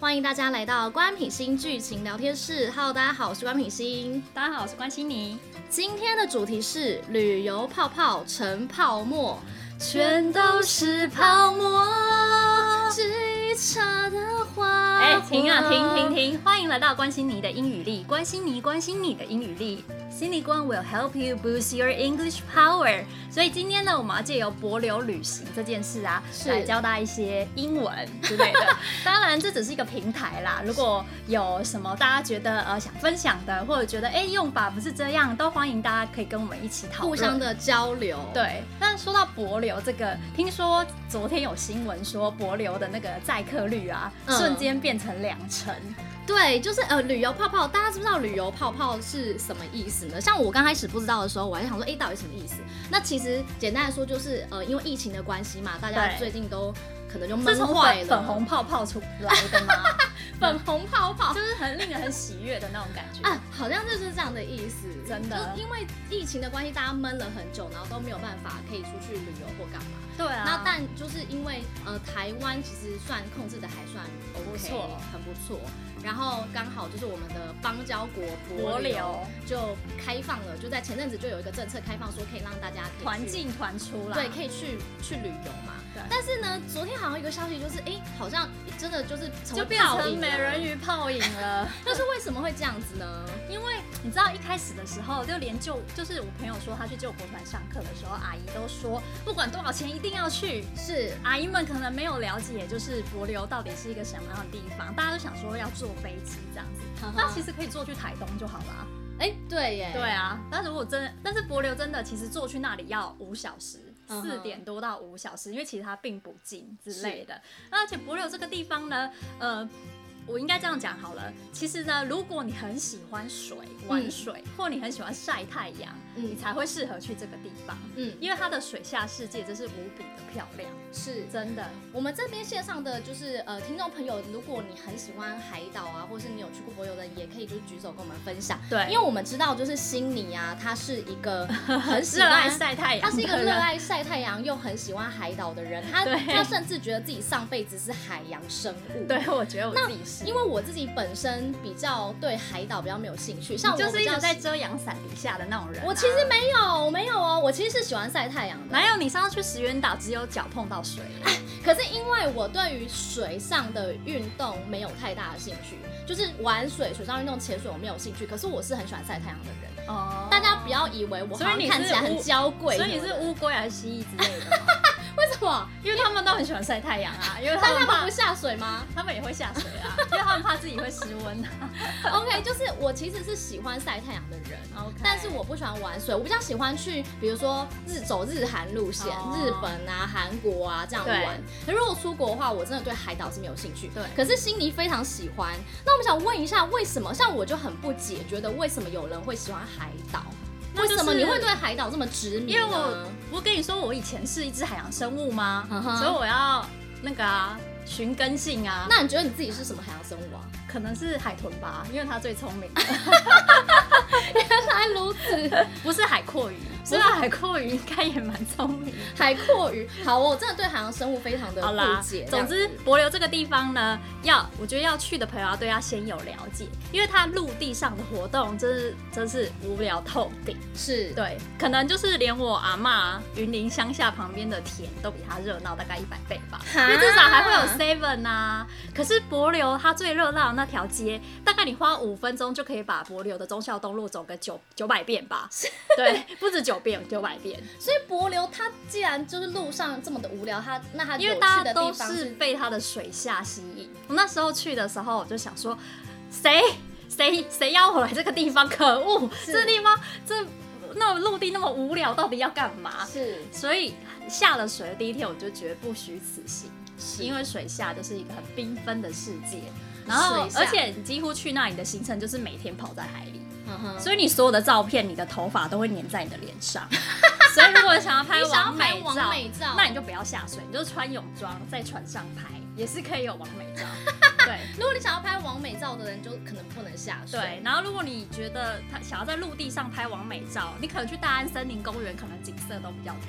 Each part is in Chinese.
歡迎大家來到官品心劇情聊天室。Hello， 大家好，我是官品心。 大家好，我是關心妮。 今天的主題是旅遊泡泡成泡沫，全都是泡沫，只一刹的花。 停啊，停！歡迎來到關心妮的英語力，關心妮的英語力。心理官 will help you boost your English power。所以今天呢，我們要借由帛琉旅行這件事啊，來教大家一些英文之類的。當然，這只是一個平台啦。如果有什麼大家覺得想分享的，或者覺得用法不是這樣，都歡迎大家可以跟我們一起討論， 互相的交流。 對。但說到帛琉這個，聽說昨天有新聞說帛琉的那個載客率啊，瞬間變成2成。 對，就是旅遊泡泡，大家知不知道旅遊泡泡是什麼意思呢？像我剛開始不知道的時候，我還想說，到底什麼意思？那其實簡单來說，就是因為疫情的關係嘛，大家最近都可能就悶壞了。 粉紅泡泡出來的嗎？ 粉紅泡泡就是很令人很喜悅的那種感覺啊，好像就是這樣的意思。 真的， 因為疫情的關係，大家悶了很久，然後都沒有辦法可以出去旅遊或幹嘛。 對啊。 那但就是因为台灣其實算控制的還算 OK， 很不錯。然後剛好就是我們的邦交國帛琉就開放了，就在前陣子就有一個政策開放，說可以讓大家可以團進團出啦， 對，可以去旅遊嘛。對。但是呢，昨天好像有一個消息，就是好像真的就是就變成美人魚泡影了。 但是為什麼會這樣子呢？ 因為你知道一開始的時候，就是我朋友說他去救國團上課的時候，阿姨都說不管多少錢一定要去。是阿姨們可能沒有了解，就是帛琉到底是一個什麼樣的地方，大家都想說要坐飛機這樣子，那其實可以坐去台東就好了。 對耶。 對啊，但是帛琉真的其實坐去那裡要5小時。4點多到5小時，因為其實它並不近之類的。而且帛琉這個地方呢，我應該這樣講好了。其實呢，如果你很喜歡玩水，或你很喜歡曬太陽，你才會適合去這個地方。因為它的水下世界真是無比的漂亮，是真的。我們這邊線上的就是聽眾朋友，如果你很喜歡海島啊，或是你有去過帛琉的，也可以就是舉手跟我們分享。对，因為我們知道就是心妮啊，他是一個很喜歡熱愛曬太陽，他是一個熱愛曬太陽又很喜歡海島的人。他甚至覺得自己上輩子是海洋生物。对，我覺得我自己是。因為我自己本身比較對海島比較沒有興趣，像我就是一直在遮陽傘底下的那種人。我其實沒有哦，我其實是喜歡曬太陽的。哪有，你上次去石垣島只有腳碰到水。可是因為我對於水上的運動沒有太大的興趣，就是玩水、水上運動、潛水我沒有興趣。可是我是很喜歡曬太陽的人。哦。大家不要以為我好像看起來很嬌貴。所以你是烏龜還是蜥蜴之類的嗎？為什麼？因為他們都很喜歡曬太陽啊，因為他們不下水嗎？他們也會下水啊，因為他們怕自己會失溫啊。OK， 就是我其實是喜歡曬太陽的人，但是我不喜歡玩水，我比較喜歡去，比如說走日韓路線，日本啊、韓國啊這樣玩。可如果出國的話，我真的對海島是沒有興趣。對。可是心妮非常喜歡，那我們想問一下，為什麼？像我就很不解，覺得為什麼有人會喜歡海島？為什麼你會對海島這麼執迷呢？因為我跟你說，我以前是一隻海洋生物嗎？所以我要那個尋根性啊。那你覺得你自己是什麼海洋生物啊？可能是海豚吧，因為它最聰明。原來如此，不是海蛞蝓。是啊，海蛞蝓應該也蠻聰明。海蛞蝓，好，我真的對海洋生物非常的不解。總之，帛琉這個地方呢，我覺得要去的朋友要對它先有了解，因為它陸地上的活動真是無聊透頂。是，對，可能就是連我阿嬤雲林鄉下旁邊的田都比它熱鬧大概100倍吧，因為至少還會有 7 啊。可是帛琉它最熱鬧的那條街，大概你花5分鐘就可以把帛琉的忠孝東路走個900遍吧。對，不止900遍，所以帛琉它既然就是路上這麼的無聊，那它有趣的地方是，因為大家都是被它的水下吸引。我那時候去的時候，我就想說，誰要我來這個地方？可惡！這個地方那陸地那麼無聊，到底要幹嘛？是，所以下了水的第一天，我就覺得不虛此行，因為水下就是一個很繽紛的世界。然後，而且你幾乎去那裡的行程就是每天泡在海裡。所以你所有的照片，你的頭髮都會粘在你的臉上。所以如果想要拍完美照，那你就不要下水，你就穿泳裝在船上拍，也是可以有完美照。對，如果你想要拍完美照的人，就可能不能下水。对，然後如果你覺得想要在陸地上拍完美照，你可能去大安森林公園，可能景色都比較多。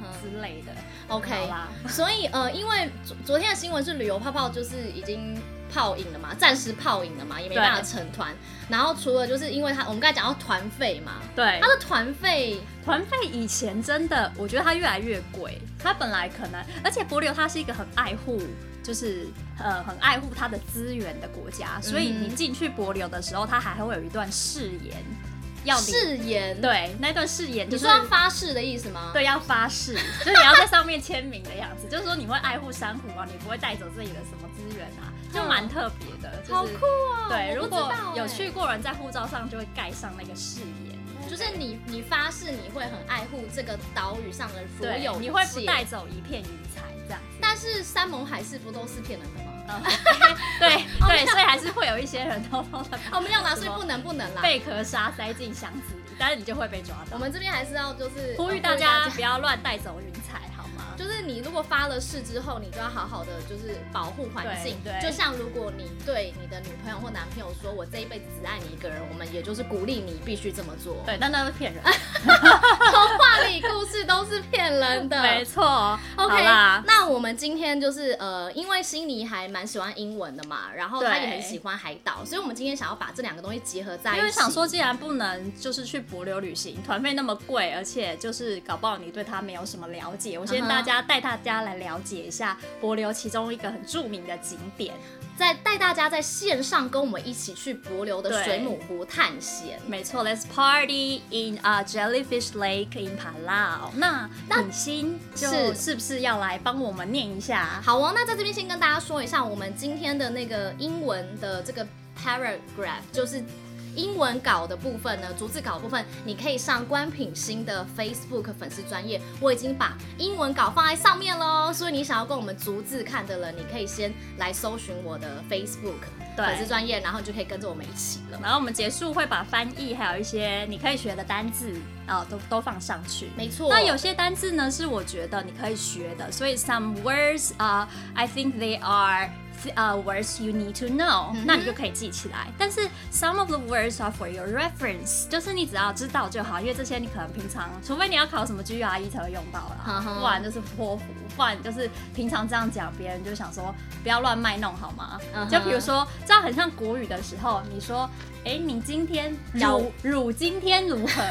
之類的。 OK， 所以因為昨天的新聞是旅遊泡泡就是已經泡影了嘛，暫時泡影了嘛，也沒辦法成團。然後除了就是因為我們剛才講到團費嘛， 對， 他的團費以前真的，我覺得它越來越貴。它本來可能，而且帛琉它是一個很愛護，就是很愛護它的資源的國家，所以你進去帛琉的時候，它還會有一段誓言。誓言，對，那段誓言就是你說要發誓的意思嗎？ 對，要發誓，就是你要在上面簽名的樣子，就是說你會愛護珊瑚啊，你不會帶走自己的什麼資源啊，就蠻特別的，就是， 好酷哦！ 對，如果有去過人，在護照上就會蓋上那個誓言， 就是你發誓你會很愛護這個島嶼上的所有， 你會不帶走一片雲彩這樣。 但是山盟海誓不都是騙人的嗎？ 對，所以還是會有一些人偷偷的， 我們要拿，所以不能啦， 貝壳沙塞進箱子裡，但是你就會被抓到。 我們這邊還是要就是呼籲大家不要亂帶走雲彩，好嗎？ 就是你如果發了誓之後，你就要好好的就是保護環境。對，就像如果你對你的女朋友或男朋友說，我這一輩子只愛你一個人，我們也就是鼓勵你必須這麼做。 對，但那是騙人。 童話裡故事都是騙人的， 沒錯。 OK， 那我們今天就是因為欣妮還蠻喜歡英文的嘛，然後她也很喜歡海島，所以我們今天想要把這兩個東西結合在一起。 因為想說，既然不能就是去帛琉旅行，團費那麼貴，而且就是搞不好你對它沒有什麼了解，我先帶大家來了解一下帛琉其中一個很著名的景點， 帶大家在線上跟我們一起去帛琉的水母湖探險。 沒錯 ，Let's party in Jellyfish Lake in Palau。那品欣就是不是要來幫我們念一下？ 好哦，那在這邊先跟大家說一下，我們今天的那個英文的這個 paragraph 就是英文稿的部分呢，逐字稿的部分，你可以上官品欣的 Facebook 粉絲專頁，我已經把英文稿放在上面咯，所以你想要跟我們逐字看的人，你可以先來搜尋我的 Facebook 粉絲專頁，然後你就可以跟着我們一起了。 然後我們結束會把翻譯還有一些你可以學的單字都放上去。 沒錯。 那有些單字呢是我覺得你可以學的，所以 some words I think they are words you need to know，那你就可以記起來。但是 some of the words are for your reference， 就是你只要知道就好，因為這些你可能平常，除非你要考什麼 GRE 才會用到啦，不然就是托福，不然就是平常這樣講，別人就想說不要亂賣弄好嗎？就比如說這樣很像國語的時候，你說你今天汝今天如何？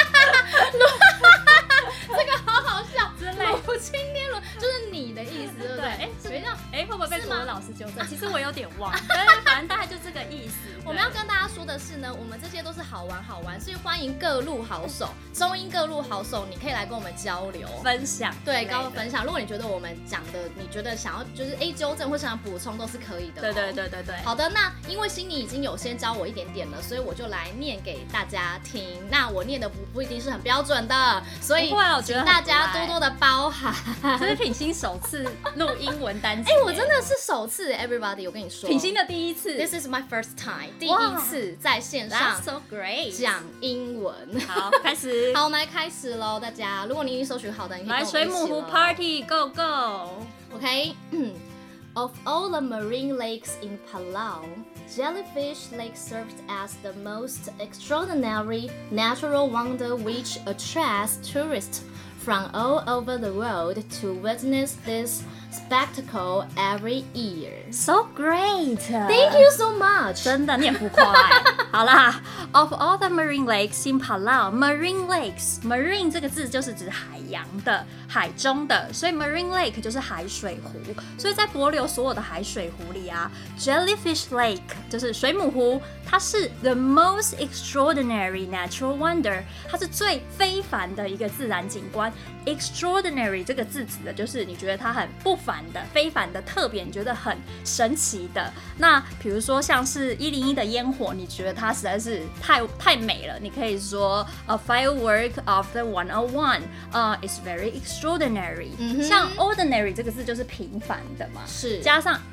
這個好好笑， 真的。 汝今天如何就是你的意思，對不對？ 會不会被国文老師糾正？其實我有點忘，但是反正大概就這個意思。 我們要跟大家說的是呢，我們這些都是好玩，所以歡迎各路好手，中英各路好手，你可以來跟我們交流、 分享， 对，跟我們分享。如果你覺得我們講的，你覺得想要就是糾正或想要補充，都是可以的。 對。 好的，那因為欣妮已經有先教我一點點了，所以我就來念給大家聽。那我念的不一定是很標準的，所以請大家多多的包涵。 這是品欣首次錄英文單詞， 我真的是首次 ，everybody， 我跟你說， 品欣的第一次 ，This is my first time， 第一次在線上講英文。 好，開始。 好，我們來開始嘍，大家。如果你已經搜尋好的，你可以跟我們一起了。 來水母湖 Party Go Go。OK， Of all the marine lakes in Palau, Jellyfish Lake serves as the most extraordinary natural wonder which attracts tourists from all over the world to witness this spectacle every year. So great! Thank you so much. 真的，你很浮誇欸。好啦 ，Of all the marine lakes in Palau, marine lakes, marine 這個字就是指海洋的、海中的，所以 marine lake 就是海水湖。所以在帛琉所有的海水湖裡啊 ，Jellyfish Lake 就是水母湖，它是 the most extraordinary natural wonder， 它是最非凡的一個自然景觀。Extraordinary 這個字指的就是你覺得它很不凡的、非凡的、特別，你覺得很神奇的。那比如說像是101的煙火，你覺得它實在是太美了，你可以說 A firework of the 101 is very extraordinary。像 ordinary 這個字就是平凡的嘛，是加上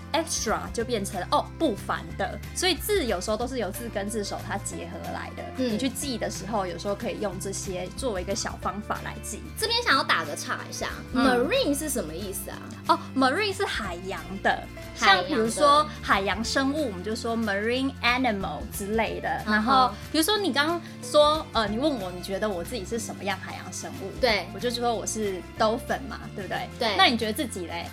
extra 就變成不凡的，所以字有時候都是由字根字首它結合來的。你去記的時候，有時候可以用這些作為一個小方法來記。 這邊想要打個岔一下，marine 是什麼意思啊 ？marine 是海洋的，像比如說海洋生物，我們就說 marine animal 之類的。然後比如說你剛剛說你問我你覺得我自己是什麼樣海洋生物？ 對， 我就說我是 dolphin 嘛，对不对？ 对。 那你覺得自己嘞？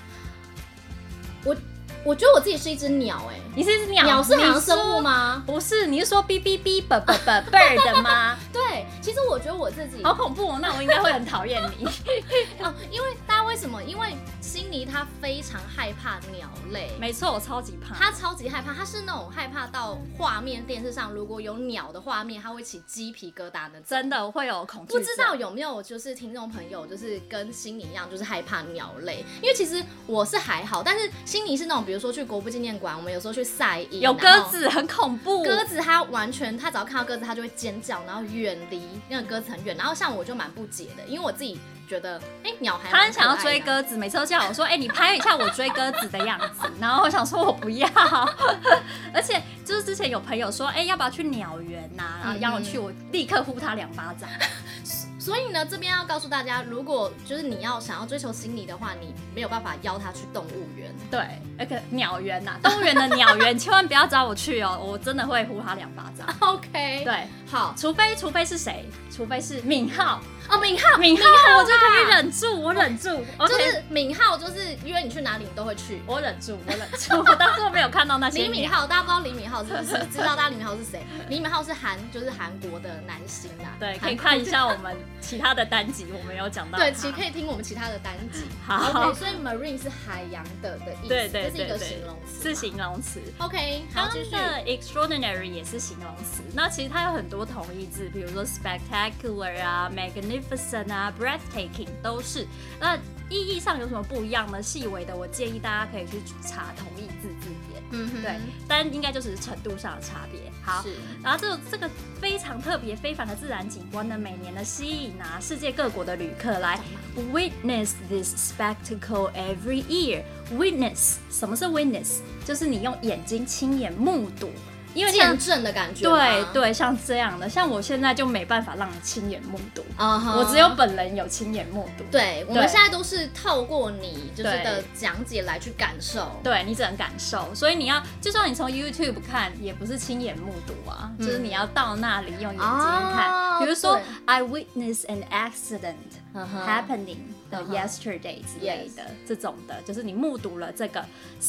我覺得我自己是一隻鳥你是一隻鳥？ 鳥是海洋生物嗎？ 不是，你是說 b b b b b bird 嗎？ 對，其實我覺得我自己好恐怖哦，那我應該會很討厭你因為大家為什麼？因為心妮她非常害怕鳥類。 沒錯，我超級怕。 她超級害怕，她是那種害怕到畫面電視上如果有鳥的畫面，她會起雞皮疙瘩的。 真的會有恐懼。 不知道有沒有就是聽眾朋友就是跟心妮一樣，就是害怕鳥類？因為其實我是還好，但是心妮是那種比如說去國父紀念館，我們有時候去曬衣， 有鴿子很恐怖。 鴿子它完全，它只要看到鴿子，它就會尖叫，然後遠離那個鴿子很遠。然後像我就蠻不解的，因為我自己覺得，鳥還他很想要追鴿子，每次都叫我說，你拍一下我追鴿子的樣子。然後我想說我不要，而且就是之前有朋友說，要不要去鳥園啊？然後邀我去，我立刻呼他2巴掌。 所以呢，這邊要告訴大家，如果就是你想要追求心妮的話，你沒有辦法邀他去動物園。 對，那個鳥園吶，動物園的鳥園千萬不要找我去哦，我真的會呼他2巴掌。 OK， 對， 好， 除非是誰？除非是敏浩。 敏浩， 我就可以忍住，我忍住。 就是敏浩，就是約你去哪裡你都會去。 我忍住。我當初沒有看到那些。 李敏鎬，大家不知道李敏鎬是不是？知道大家李敏鎬是誰？李敏鎬是就是韓國的男星啊。 對，可以看一下我們其他的单集，我們有講到。 對，可以聽我們其他的單集。好 ，OK， 所以 marine 是海洋的意思， 对， 這是一個形容詞。 是形容詞。 OK， 好，繼續。 剛剛的 extraordinary 也是形容詞，那其實它有很多同義字，比如說 spectacular 啊 ，magnificent 啊。breathtaking 都是，那意義上有什麼不一樣呢？細微的，我建議大家可以去查同義字字典，對，但應該就只是程度上的差別。好，然後這個非常特別、非凡的自然景觀呢，每年的吸引世界各國的旅客來 witness this spectacle every year。witness 什麼是 witness？ 就是你用眼睛親眼目睹。因為見證的感覺， 對，像這樣的，像我現在就沒辦法讓你親眼目睹，我只有本人有親眼目睹。 對，我們現在都是透過你就是的講解來去感受， 對，你只能感受，所以你要，就算你從 YouTube 看，也不是親眼目睹啊，就是你要到那裡用眼睛看。比如說 I witnessed an accident happening yesterday 之類的，這種的，就是你目睹了這個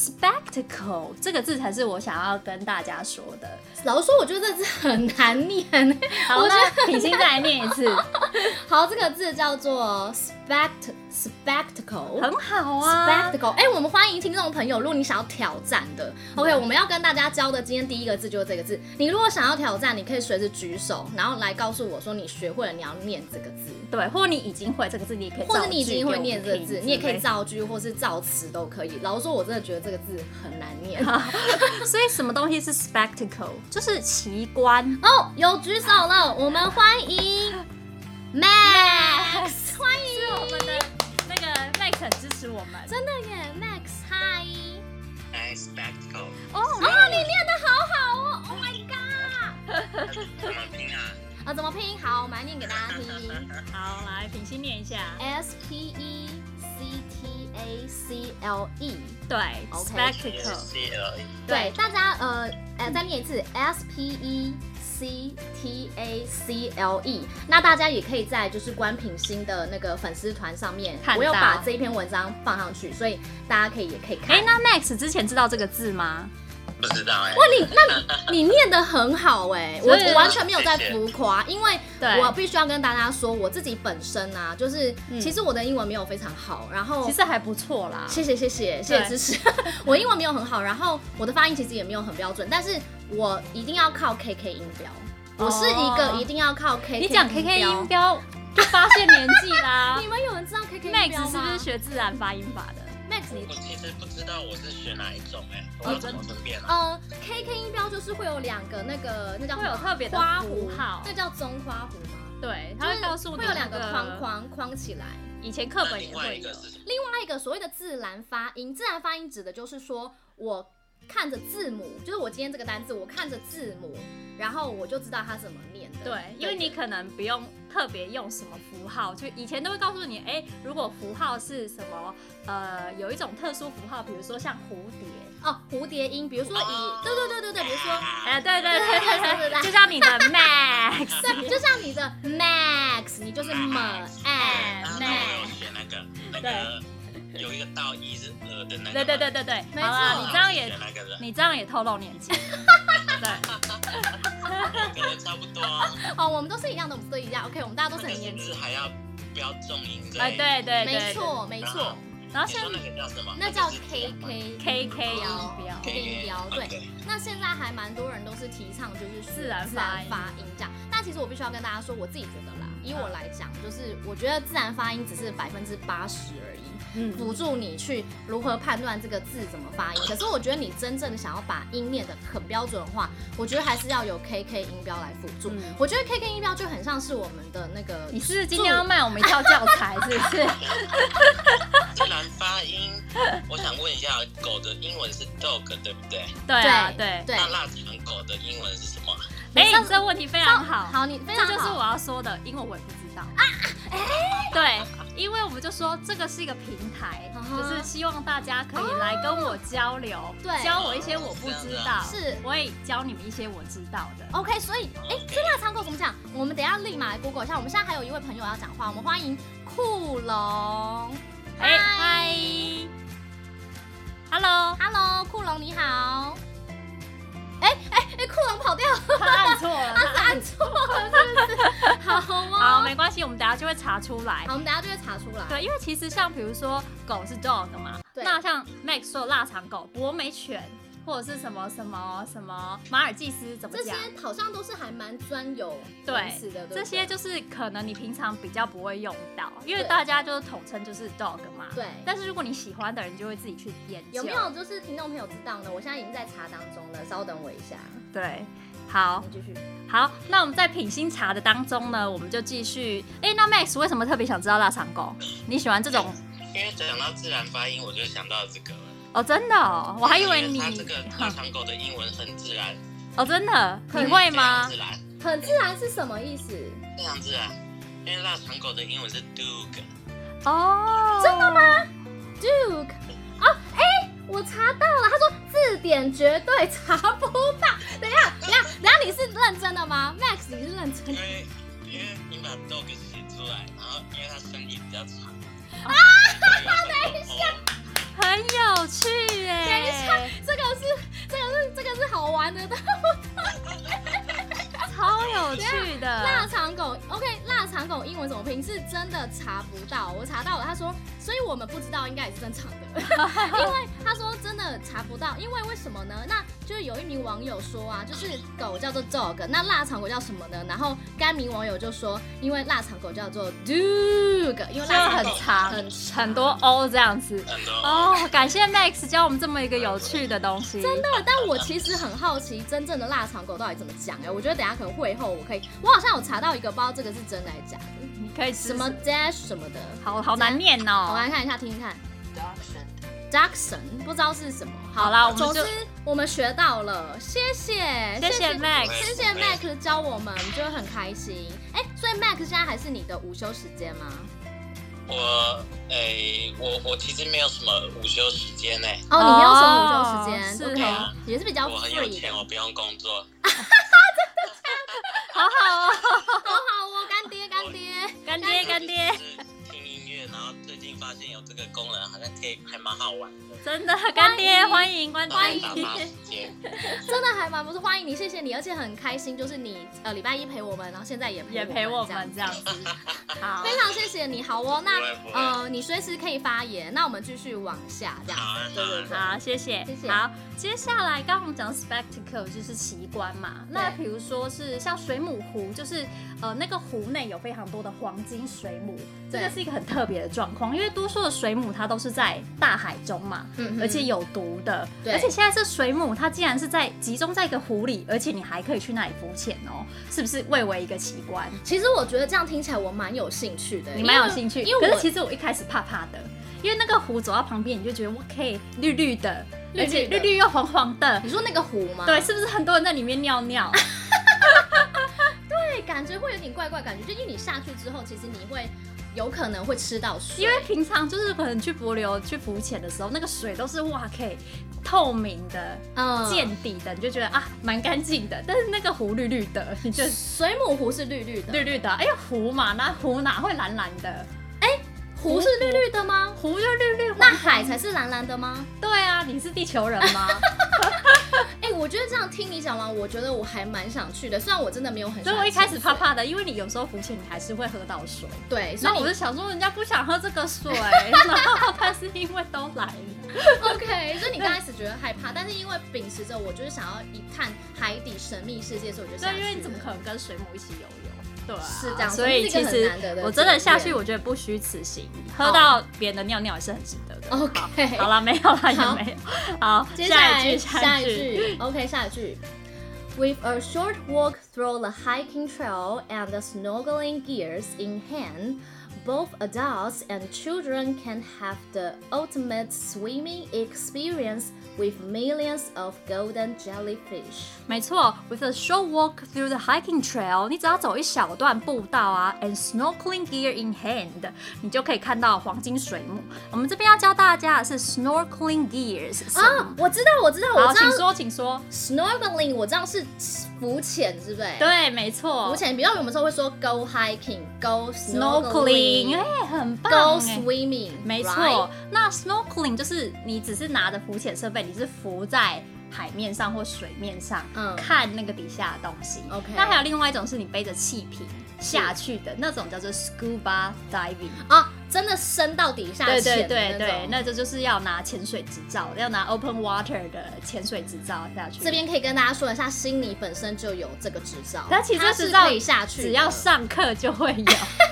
spectacle 這個字才是我想要跟大家說的。 老實說，我覺得這字很難念。 好，那品心再來念一次。 好，這個字叫做 spectacle， 很好啊。 spectacle， 我們歡迎聽眾朋友，如果你想要挑戰的 ，OK， 我们要跟大家教的今天第一個字就是這個字。你如果想要挑戰，你可以隨時舉手，然後來告訴我說你學會了，你要念這個字。對， 或者你已經會這個字，你也可以造句， 或者你已經會念這個字，你也可以造句或是造詞都可以。老實說，我真的覺得這個字很難念。 所以什麼東西是 spectacle？ 就是奇觀哦。有舉手了，我們歡迎 Max， 歡迎， 是我們的那個 Max 很支持我們， 真的耶 ，Max， 嗨。 spectacle。 哦，你念得好好哦 ，Oh my god！ 怎麼拼啊？ 怎麼拼？好，我們來念給大家聽。 好，來，品心念一下 spectacle。 对 ，spectacle。 對，大家再念一次 spectacle。那大家也可以在就是關品心的那個粉絲團上面，我有把這一篇文章放上去，所以大家也可以看。 那 Max 之前知道這個字嗎？ 不知道哇， 你念得很好我完全沒有在浮誇，因為我必須要跟大家說，我自己本身啊，就是其實我的英文沒有非常好，然後其實還不錯啦， 謝謝支持。我英文沒有很好，然後我的發音其實也沒有很標準，但是我一定要靠 KK 音標，我是一個一定要靠 KK 音標。 你講 KK 音標就發現年紀啦。 你們有人知道 KK 音標嗎？ Max 是不是學自然發音法的 ？Max， 我其實不知道我是學哪一種我怎麼分辨 KK 音標就是會有兩個那叫會有特別的花符號， 那叫中花弧嗎？ 對，它會告訴你會有兩個框起來。 以前課本也會有。 另外一個所謂的自然發音，自然發音指的就是說我看着字母，就是我今天這個單字，我看着字母，然後我就知道它怎麼念的。 對，因為你可能不用特別用什麼符號，就以前都會告訴你，如果符號是什麼，有一種特殊符號，比如說像蝴蝶。 哦，蝴蝶音，比如说對，比如說， 對，就像你的 Max， 對，就像你的 Max， 你就是 Max。 写那個有一個倒一是的那個。 對， 沒錯。 好了，你這樣也透露年紀。對， 可能差不多。 哦，我們都是一樣的，我們都一樣。OK， 我們大家都是很年輕。 還要標重音。 對， 沒錯。然後现在那個叫什麼？ 那叫 KK 音標。對。那現在還蠻多人都是提倡就是自然發音這樣，但其實我必須要跟大家說，我自己覺得啦，以我來講，就是我覺得自然發音只是80%而已。輔助你去如何判斷這個字怎麼發音，可是我覺得你真正的想要把音念得很標準的話，我覺得還是要有 KK 音標來輔助。我覺得 KK 音標就很像是我們的那個， 你是今天要賣我們一套教材是不是？ 自然發音，我想問一下，狗的英文是 dog 對不对？ 對。 那臘腸狗的英文是什麼？ 這個問題非常好。 好，你非常好， 這就是我要說的，因為我也不知道啊。對，因為我們就說這個是一個平台，就是希望大家可以來跟我交流，教我一些我不知道，我也教你們一些我知道的。 OK， 所以这臘腸狗怎麼講？我們等一下立馬來 Google 一下。我們現在還有一位朋友要講話，我們歡迎酷龍。 嗨 ，Hello， 酷龍你好。 酷龍跑掉了， 他按錯了， 他按錯了，是不是？好， 沒關係，我們等一下就會查出來。 好，我們等一下就會查出來。 對，因為其實像比如說狗是 dog 嘛，那像 Max 說的臘腸狗、博美犬，或者是什麼馬爾濟斯怎麼講？這些好像都是還蠻專有名詞的，對， 這些就是可能你平常比較不會用到，因為大家就是統稱就是 dog 嘛。 對。 但是如果你喜歡的人，就會自己去研究。 有沒有就是聽众朋友知道呢？我現在已經在查當中了，稍等我一下。 對，好， 繼續。 好，那我們在品心茶的當中呢，我們就繼續。那 Max 為什麼特別想知道臘腸狗？你喜歡這種？ 因為講到自然發音，我就想到這個了。 哦，真的哦，我還以為你。 它這個臘腸狗的英文很自然。 哦，真的？你會嗎？ 很自然是什麼意思？ 非常自然，因為臘腸狗的英文是 Doog。 哦， 真的嗎 ？Doog。我查到了，他说字典絕對查不到。等一下，你是認真的嗎 ？Max， 你是認真的？ 因為你把 dog 寫出來，然後因為它聲音比較長。 等一下， 很有趣耶！ 等一下，這個是好玩的， 超有趣的。 臘腸狗 ，OK， 臘腸狗英文怎麼拼？是真的查不到，我查到了。他說，所以我們不知道，應該也是正常的，因為他說真的查不到，因為什麼呢？那就是有一名網友說啊，就是狗叫做 dog， 那臘腸狗叫什麼呢？然後該名網友就說，因為臘腸狗叫做 Doog， 因為臘腸狗很多 O 這樣子。哦，感謝 Max 教我們這麼一個有趣的東西。 真的，但我其實很好奇，真正的臘腸狗到底怎麼講？我覺得等一下可能會後我好像有查到一個，不知道這個是真的還是假的。 你可以什麼 dash 什麼的， 好難念哦。 我來看一下，聽聽看。Dachshund 不知道是什麼。 好啦， 總之我們學到了，謝謝 Max， 謝謝 Max 教我們，就會很開心。所以 Max 現在還是你的午休時間嗎？ 我其實沒有什麼午休時間呢。 哦，你沒有什麼午休時間 ，OK， 也是比較 free 的。 我很有錢，我不用工作。 真的假的？好好哦，干爹。 听音樂，然後最近發現有這個功能，好像還蠻好玩的。 真的，乾爹歡迎。 真的還蠻不錯，歡迎你，謝謝你，而且很開心，就是你禮拜一陪我們，然後現在也陪我們這樣子。好，非常謝謝你。好哦，那你隨時可以發言，那我們繼續往下這樣子。對， 好，謝謝。好，接下來剛剛我們講 spectacle 就是奇觀嘛，那比如說是像水母湖，就是那個湖內有非常多的黃金水母，這個是一個很特別的狀況，因為多數的水母它都是在大海中嘛，而且有毒的，而且现在這水母它竟然是集中在一個湖裡，而且你還可以去那裡浮潛哦，是不是蔚為一個奇觀？ 其實我覺得這樣聽起來我蠻有興趣的。 你蠻有興趣，可是其實我一開始怕怕的，因為那個湖走到旁邊你就覺得哇，可以綠綠的， 而且綠綠又黃黃的。 你說那個湖嗎？ 對，是不是很多人在裡面尿尿？ 对，感覺會有點怪怪，感覺就因為你下去之後，其實你會有可能會吃到水， 因為平常就是可能去帛琉去浮潛的時候，那個水都是哇，可以透明的、見底的，你就覺得啊蠻乾淨的。但是那個湖綠綠的，你就水母湖是綠綠的， 綠綠的。哎呀，湖嘛，那湖哪會藍藍的？ 湖是綠綠的嗎？ 湖就綠綠， 那海才是藍藍的嗎？ 對啊，你是地球人嗎？ 我覺得這樣聽你講完，我覺得我還蠻想去的。雖然我真的沒有很喜歡， 所以我一開始怕怕的，因為你有時候浮潛，你還是會喝到水。 對， 所以我就想說，人家不想喝這個水，然後但是因為都來了。 OK， 所以你剛開始覺得害怕，但是因為秉持着我就是想要一探海底神秘世界，所以我就下去了。 對，因為你怎麼可能跟水母一起游泳？对啊， 是這樣， 所以其實我真的下去，我覺得不虛此行，喝到別人的尿尿也是很值得的。 OK， 好了，没有了，也没有。好， 接下來下一句 ，OK， 下一句。With a short walk through the hiking trail and the snorkeling gears in hand, both adults and children can have the ultimate swimming experience with millions of golden jellyfish. 沒錯 ，With a short walk through the hiking trail， 你只要走一小段步道啊 ，and snorkeling gear in hand， 你就可以看到黄金水母。我们這邊要教大家的是 snorkeling gears 啊，我知道。 好，請說。 Snorkeling 我知道是浮潛，是不是？ 對，沒錯。 浮潛，比如我們說會說 go hiking，go snorkeling， 很棒。 go swimming， 沒錯。那 snorkeling 就是你只是拿着浮潛設備，你是浮在海面上或水面上，看那個底下的東西。OK。那還有另外一種是你背着氣瓶下去的那種，叫做 scuba diving 啊，真的深到底下潛。 對，那就是要拿潛水執照，要拿 open water 的潛水執照下去。 這邊可以跟大家說一下，悉尼本身就有這個執照， 但其實執照可以下去， 只要上課就會有。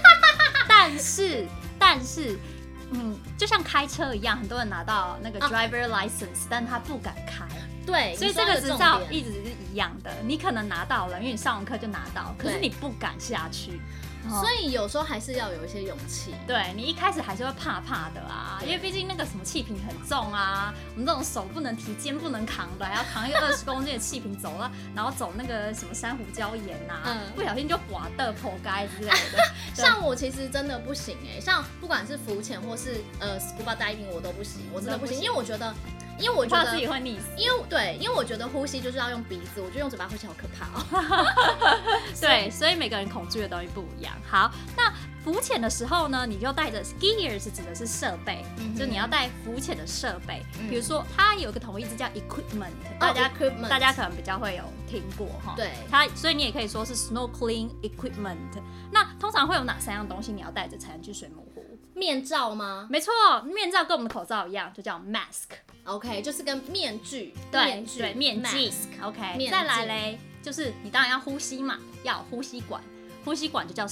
但是。就像開車一樣，很多人拿到那個 driver license，但他不敢開。 對， 所以這個執照一直是一樣的。你可能拿到了，因為你上完課就拿到，可是你不敢下去。 所以有時候還是要有一些勇氣。 對，你一開始還是會怕怕的啊，因為畢竟那個什麼氣瓶很重啊，我們這種手不能提、肩不能扛的，還要扛一個20公斤的氣瓶走了，然後走那個什麼珊瑚礁岩啊，不小心就滑的破街之類的。 像我其實真的不行像不管是浮潛或是scuba diving 我都不行，我真的不行，因为我覺得怕自己會溺死。 因為我覺得呼吸就是要用鼻子，我覺得用嘴巴呼吸好可怕哦。 對，所以每個人恐懼的東西不一樣。好，那浮潛的時候呢，你就帶着 skiers 指的是設備，就你要帶浮潛的設備。比如說，它有一個統一字叫 equipment， 大家可能比較會有聽過哈。 對， 所以你也可以說是 snorkeling equipment。那通常會有哪3樣東西你要帶着才能去水母湖？ 面罩嗎？ 沒錯，面罩跟我們的口罩一樣，就叫 mask。OK， 就是跟面具。 對，面鏡。OK， 再來嘞，就是你當然要呼吸嘛，要有呼吸管。呼吸管就叫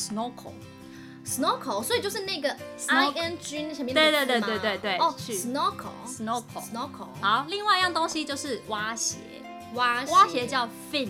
snorkel， 所以就是那個 ing 那前面的字嗎？ 對。 哦 ，snorkel。 好，另外一樣東西就是蛙鞋，蛙鞋叫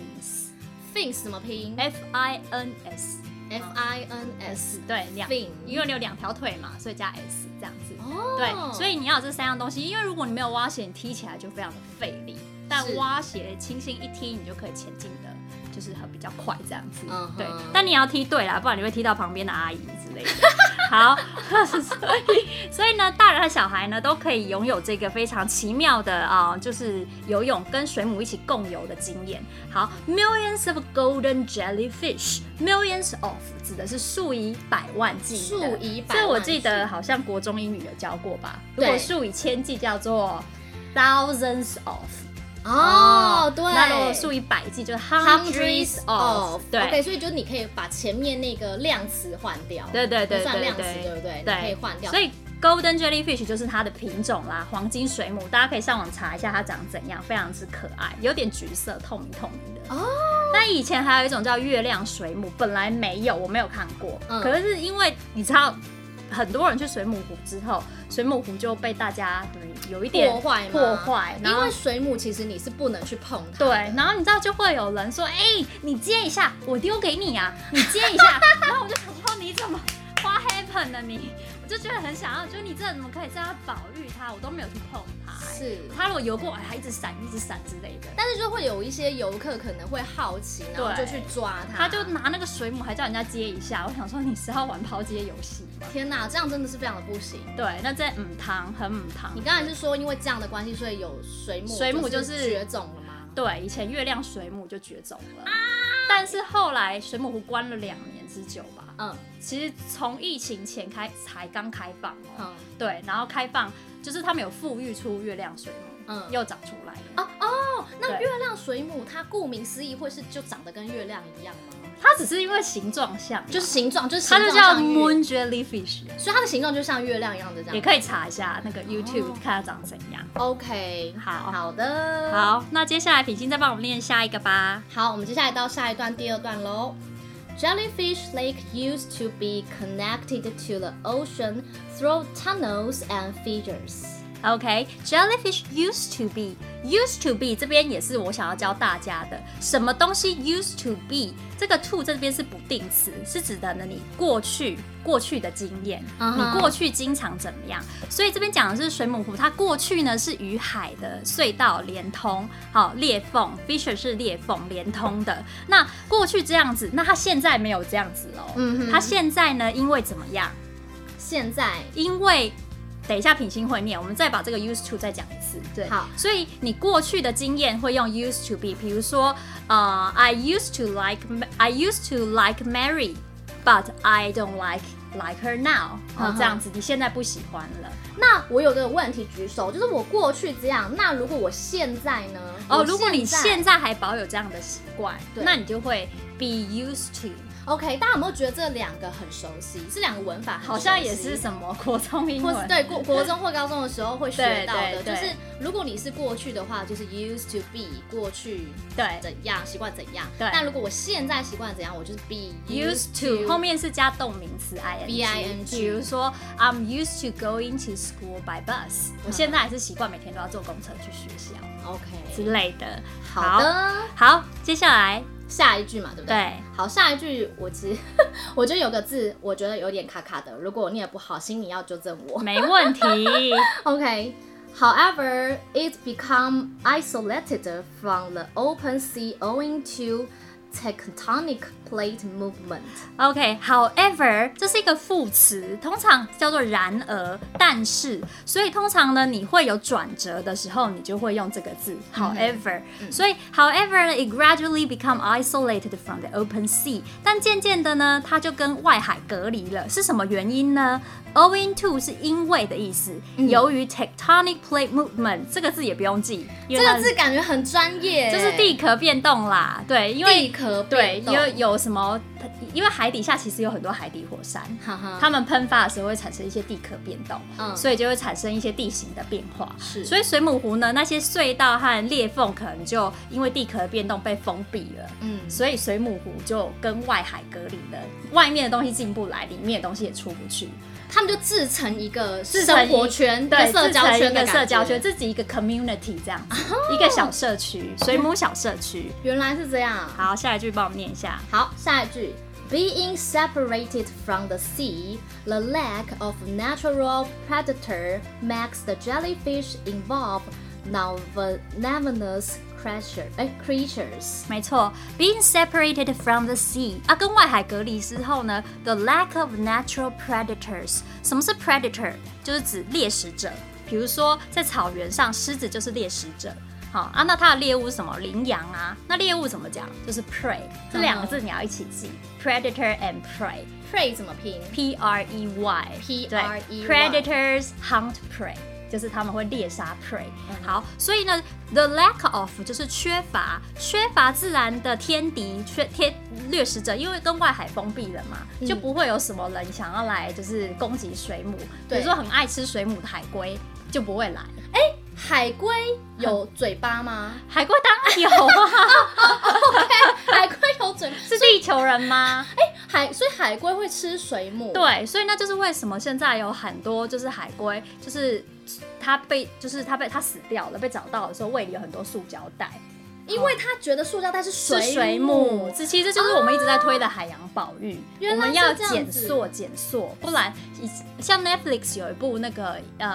fins 怎麼拼 ？fins。对，fin， 因為你有2條腿嘛，所以加 s 這樣子。對，所以你要有這3樣東西，因為如果你沒有蛙鞋，你踢起來就非常的費力。但蛙鞋輕輕一踢，你就可以前進的，就是比較快這樣子。對，但你要踢對啦，不然你會踢到旁邊的阿姨之類的。好，所以呢，大人和小孩呢都可以擁有這個非常奇妙的就是游泳跟水母一起共游的經驗。好 ，millions of golden jellyfish，millions of 指的是數以百萬計，數以百萬。這我記得好像國中英語有教過吧？如果數以千計叫做 thousands of。對。那如果數以百計就是 hundreds of。對。 OK， 所以就是你可以把前面那個量詞換掉。 對， 不算量詞，對不對？你可以換掉。 所以 golden jellyfish 就是它的品種啦，黃金水母，大家可以上網查一下它長怎樣，非常之可愛，有點橘色，透明的。那以前還有一種叫月亮水母，本來沒有，我沒有看過。可是因為你知道，很多人去水母湖之後，水母湖就被大家有一點破壞， 因為水母其實你是不能去碰它。 對，然後你知道就會有人說，你接一下，我丟給你啊，你接一下，然後我就想說你怎麼 what happened 呢你？我就覺得很想要，就是你這怎麼可以這樣保育它？我都沒有去碰它。 是， 它如果游過來，它一直閃之類的。 但是就會有一些遊客可能會好奇，然後就去抓它， 他就拿那個水母，還叫人家接一下。我想說，你是要玩拋接遊戲嗎？ 天哪，這樣真的是非常的不行。 對，那這很母湯。 你剛才是說因為這樣的關係，所以有水母就是絕種了嗎？ 對，以前月亮水母就絕種了。但是後來水母湖關了2年之久吧。其實從疫情前才剛開放對，然後開放就是他們有復育出月亮水母，又長出來了。 那月亮水母它顧名思義會是就長得跟月亮一樣嗎？ 它只是因為形狀像， 就是形狀它就叫 moon jellyfish， 所以它的形狀就像月亮一樣的这樣。 也可以查一下那個 YouTube 看它長怎樣。 OK， 好的， 好，那接下來品心再幫我們練下一個吧。 好，我們接下來到下一段第2段嘍。Jellyfish Lake used to be connected to the ocean through tunnels and fissures.OK, jellyfish used to be 這邊也是我想要教大家的，什麼東西 used to be 這個 to 這邊是不定詞，是指的呢你過去的經驗，你過去經常怎麼樣？所以這邊講的是水母湖，它過去呢是與海的隧道連通，裂縫 fissure 是裂縫連通的。那過去這樣子，那它現在沒有這樣子哦。它現在呢，因為怎麼樣？ 現在因為等一下品心會念，我們再把這個 used to 再講一次。對，好，所以你過去的經驗會用 used to be， 比如說I used to like Mary, but I don't like her now。这樣子，你現在不喜歡了。 那我有個問題舉手，就是我過去這樣，那如果我現在呢？ 如果你現在還保有這樣的習慣，那你就會 be used to。OK， 大家有沒有覺得這兩個很熟悉？這兩個文法很熟悉， 好像也是什麼國中英文， 或是對國中或高中的時候會學到的。就是如果你是過去的話，就是 used to be 過去怎樣習慣怎樣。對。那如果我現在習慣怎樣，我就是 be used to 後面是加動名詞 ing。比如說 I'm used to going to school by bus，我現在還是習慣每天都要坐公車去學校。 OK 之類的。 好的， 好，接下來。 下一句嘛，对不对？ 对， 好，下一句我其實我覺得有個字，我覺得有點卡卡的，如果我念得不好，請你要糾正我。 沒問題。 OK， However, it become isolated from the open sea owing to tectonic plate movement. OK, however 這是一個副詞，通常叫做然而、但是，所以通常呢，你會有轉折的時候，你就會用這個字 however。所以 however it gradually become isolated from the open sea， 但漸漸的呢，它就跟外海隔離了。是什麼原因呢？Owing to 是因為的意思，由於 tectonic plate movement 這個字也不用記， 這個字感覺很專業， 就是地殼變動啦。對，因為地殼變動， 對，有什麼？因為海底下其實有很多海底火山，它們噴發的時候會產生一些地殼變動，所以就會產生一些地形的變化。是，所以水母湖呢，那些隧道和裂縫可能就因為地殼的變動被封閉了，所以水母湖就跟外海隔離了，外面的東西進不來，裡面的東西也出不去。 他們就自成一個生活圈，對，社交圈的社交圈， 自己一個 community 這樣子，一個小社區，水母小社區。 原來是這樣。 好，下一句幫我們念一下。 好，下一句 ，Being separated from the sea, the lack of natural predator makes the jellyfish involve non-venomous creatures。没錯 ，being separated from the sea 跟外海隔離之後呢 ，the lack of natural predators。什麼是 predator？ 就是指獵食者。比如說在草原上，獅子就是獵食者。好那它的獵物是什麼？羚羊啊。那獵物怎麼講？就是 prey。這兩個字你要一起記 ，predator and prey。prey 怎麼拼 ？P-R-E-Y。P-R-E-Y。Predators hunt prey。就是他们會獵殺 prey。好，所以呢 ，the lack of 就是缺乏自然的天敵掠食者，因為跟外海封閉了嘛，就不會有什麼人想要來就是攻擊水母。比如說很愛吃水母的海龜就不會來。海龜有嘴巴嗎？海龜當然有啊。OK， 海龜有嘴巴， 是地球人嗎？ 所以海龜會吃水母。 對，所以那就是為什麼現在有很多就是海龜，就是它死掉了，被找到的時候胃裡有很多塑膠袋， 因為他覺得塑膠袋是水母。 這其實就是我們一直在推的海洋保育，我們要減塑，不然像 Netflix 有一部那個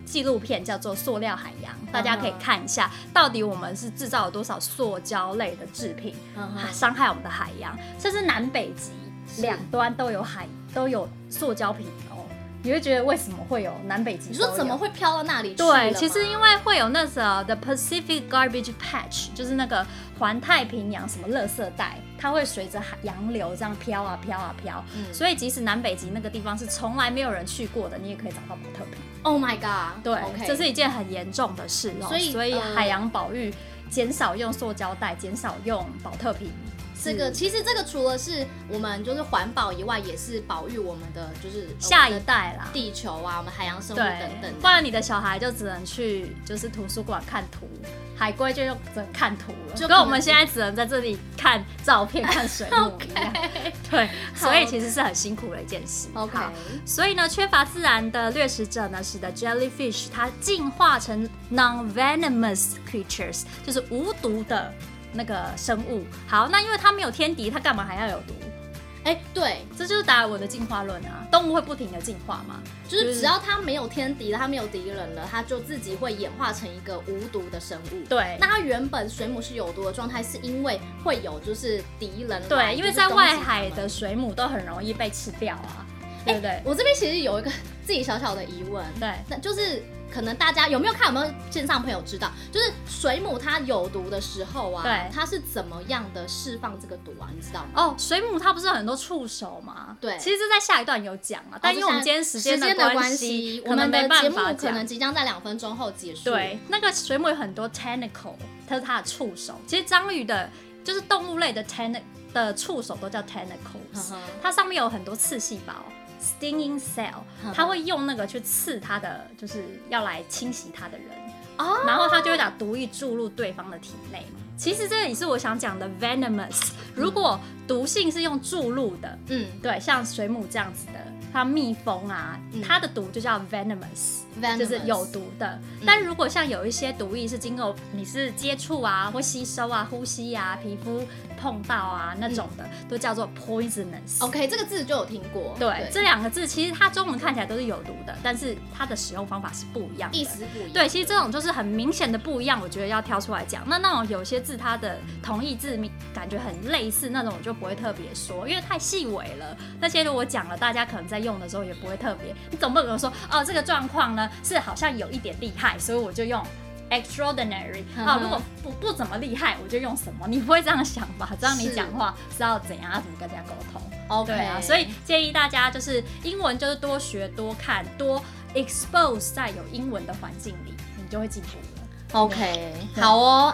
紀錄片叫做《塑料海洋》，大家可以看一下，到底我們是製造了多少塑膠類的製品，傷害我們的海洋。這是南北極兩端都有塑膠瓶哦。你會覺得為什麼會有南北極？ 你說怎麼會飄到那裡去？ 對，其實因為會有那個 The Pacific Garbage Patch， 就是那個環太平洋什麼垃圾帶，它會隨着洋流這樣飄啊飄啊飄。所以即使南北極那個地方是從來沒有人去過的，你也可以找到寶特瓶。 Oh my god！ 對， okay. 這是一件很嚴重的事哦。所以海洋保育，減少用塑膠袋，減少用寶特瓶。 其實這個除了是我們就是環保以外，也是保育我們的就是下一代啦， 地球啊，我们海洋生物等等。 不然你的小孩就只能去就是图書館看图，海龜就只能看圖了，就跟我們现在只能在這裡看照片、看水母一樣。對，所以其實是很辛苦的一件事。 OK， 所以呢，缺乏自然的掠食者呢，使得 jellyfish 它進化成 non-venomous creatures， 就是無毒的那個生物。好，那因為它沒有天敵，它幹嘛還要有毒？ 對， 這就是達爾文的進化論啊。動物會不停的進化嘛， 就是只要它沒有天敵了，它沒有敵人了，它就自己會演化成一個無毒的生物。 對， 那它原本水母是有毒的狀態，是因為會有就是敵人來。 對，因為在外海的水母都很容易被吃掉啊，對不對？ 我這邊其實有一個自己小小的疑問， 對， 那就是可能大家有沒有線上朋友知道，就是水母它有毒的時候啊， 对， 它是怎麼樣的釋放這個毒啊？你知道嗎？ 哦，水母它不是很多觸手嗎？ 對， 其實這在下一段有講啊，但因為我們今天時間的關係， 我們的節目可能即將在2分鐘後結束。 對，那個水母有很多 tentacle， 它是它的觸手。其實章魚的，就是動物類的觸手都叫 tentacles， 它上面有很多刺細胞。Stinging cell， 他會用那個去刺他的，就是要來侵襲他的人，然後他就會把毒液注入對方的體內。其實這也是我想講的 venomous。如果毒性是用注入的，對，像水母這樣子的，它蜜蜂啊，它的毒就叫 venomous， 就是有毒的。但如果像有一些毒液是經過你是接觸啊，或吸收啊、呼吸啊、皮膚碰到啊那種的，都叫做 poisonous。 OK， 這個字就有聽過。 對，這兩個字其實它中文看起來都是有毒的，但是它的使用方法是不一樣的， 意思不一樣。 對，其實這種就是很明顯的不一樣，我覺得要挑出來講。那種有些字它的同義字感覺很類似，那種我就不會特別說，因為太細微了。那些如果講了，大家可能在用的時候也不會特別。你總不能說哦，這個狀況呢是好像有一點厲害，所以我就用 extraordinary。如果不怎麼厲害，我就用什麼？你不會這樣想吧？這樣你講話是要怎樣？要怎麼跟人家溝通 ？OK 對啊，所以建議大家就是英文就是多學、多看、多 expose 在有英文的環境裡，你就會進步了。 OK， 好哦。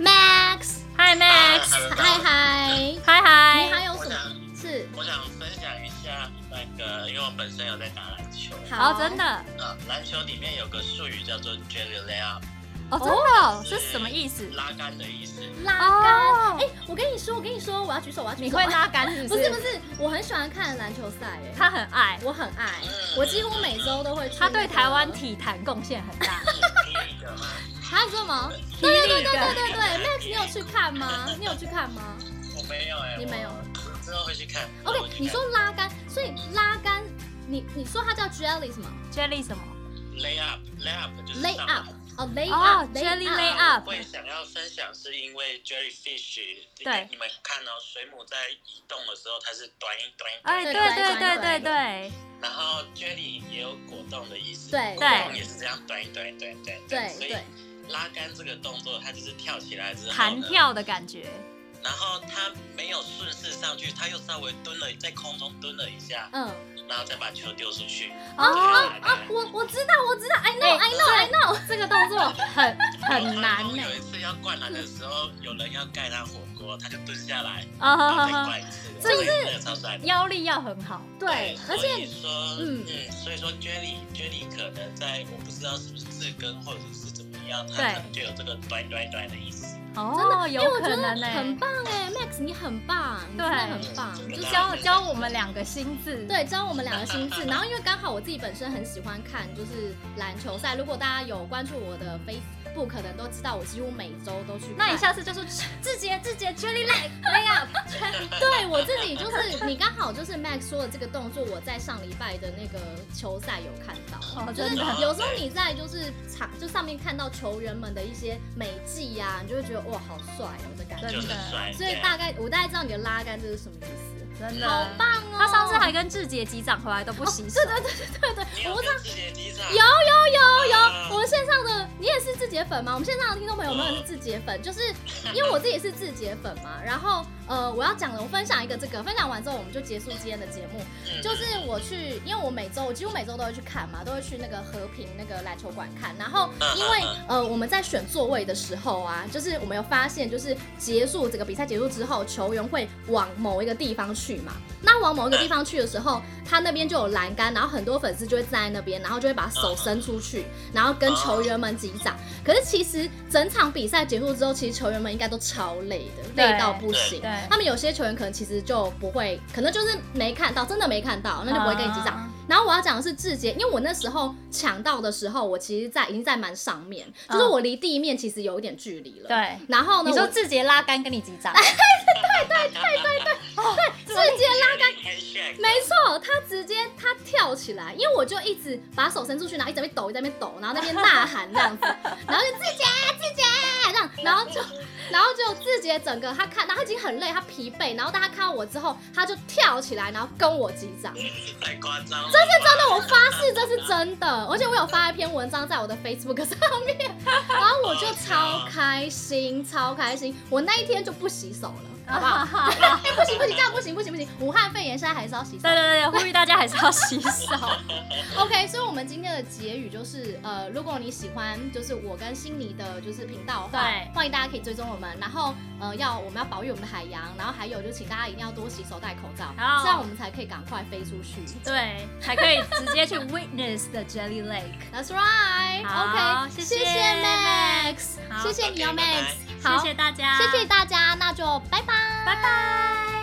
Max，Hi Max， 嗨， 你還有什麼？ 我想分享一下那個，因為我本身有在打籃球。 好，真的。 籃球裡面有個術語叫做 jelly layup。 哦，真的，這是什麼意思？ 拉桿的意思。 拉桿。我跟你說，我要舉手， 你會拉桿是不是？ 不是，我很喜歡看籃球賽， 他很愛， 我很愛，我幾乎每周都会去。 他對台灣體壇貢獻很大。 還有什麼？對，Max， 你有去看嗎？ 我沒有你沒有。 之後會去看。 OK， 你說拉桿，所以拉桿，你說它叫 jelly 什麼 ？jelly 什麼 ？layup 就是 layup。 jelly layup。 会想要分享是因為 jellyfish， 對， 你們看到水母在移動的時候，它是短一。 對。 然後 jelly 也有果凍的意思， 對， 果凍也是這樣短。 對， 所以拉桿這個動作，它就是跳起來之後彈跳的感覺。 然後它沒有順勢上去，它又稍微在空中蹲了一下，然後再把球丟出去。 我知道 I know， 這個動作很難。 有一次要灌籃的時候，有人要蓋他火鍋，他就蹲下來，然後再灌一次，這個超帥， 腰力要很好。 對，而且所以說 jelly 可能在我不知道是不是字根或者是怎麼樣，它可能就有這個短的意思。 真的， 因為我覺得很棒Max 你很棒，你真的很棒， 就教我們2個新字， 对，教我们2個新字。然後因為剛好我自己本身很喜歡看就是籃球賽，如果大家有關注我的 Facebook，可能都知道我幾乎每周都去看。 那你下次就說志傑 Jelly Leg， 對，我自己就是你剛好就是 Max 說的這個動作，我在上禮拜的那個球賽有看到，就是有時候你在就是就上面看到球員們的一些美技呀，你就會覺得哇好帥哦的感覺， 真的。 所以我大概知道你的拉桿這是什麼意思。 真的好棒哦！ 他上次還跟志傑擊掌回來都不洗手。 對， 我跟志傑擊掌。 有，我們線上的你也是志傑粉嗎？我們線上的聽眾朋友們也是志傑粉，就是因為我自己也是志傑粉嘛。然後我要講的，我分享一個分享完之後我們就結束今天的節目。就是我去，因為我幾乎每周都會去看嘛，都會去那個和平那個籃球館看。然後因為我們在選座位的時候啊，就是我們有發現，就是整個比賽結束之後，球員會往某一個地方去嘛，那往某一個地方去的時候，他那邊就有欄杆，然後很多粉絲就會站在那邊，然後就會把手伸出去，然後跟球員們擊掌。可是其實整場比賽結束之後，其實球員們應該都超累的，累到不行。他們有些球員可能其實就不會，可能就是沒看到，真的沒看到，那就不會跟你擊掌。然後我要講的是志傑，因為我那時候搶到的時候，我其實已經在蠻上面，就是我離地面其實有一點距離了。 對。 然後呢， 你說志傑拉桿跟你擊掌？ 對，志傑拉桿，沒錯，他跳起來，因為我就一直把手伸出去，然後一直在那邊抖，然後那邊吶喊這樣子，然後就志傑這樣，然後就志傑整個然後他已經很累，他疲憊，然後當他看到我之後，他就跳起來，然後跟我擊掌。 太誇張了！ 這是真的，我發誓這是真的，而且我有發一篇文章在我的 Facebook 上面，然後我就超開心，我那一天就不洗手了。好不好？不行，這樣不行！武漢肺炎現在還是要洗手。 對，呼籲大家還是要洗手。 OK， 所以我們今天的結語就是，如果你喜歡就是我跟欣妮的就是頻道的話，歡迎大家可以追蹤我們。然後我們要保育我們的海洋，然後還有就請大家一定要多洗手、戴口罩，這樣我們才可以趕快飛出去。 對，才可以直接去 witness the Jelly Lake。 That's right。OK， 謝謝 Max， 謝謝你哦 Max。 好，謝謝大家， 那就拜拜。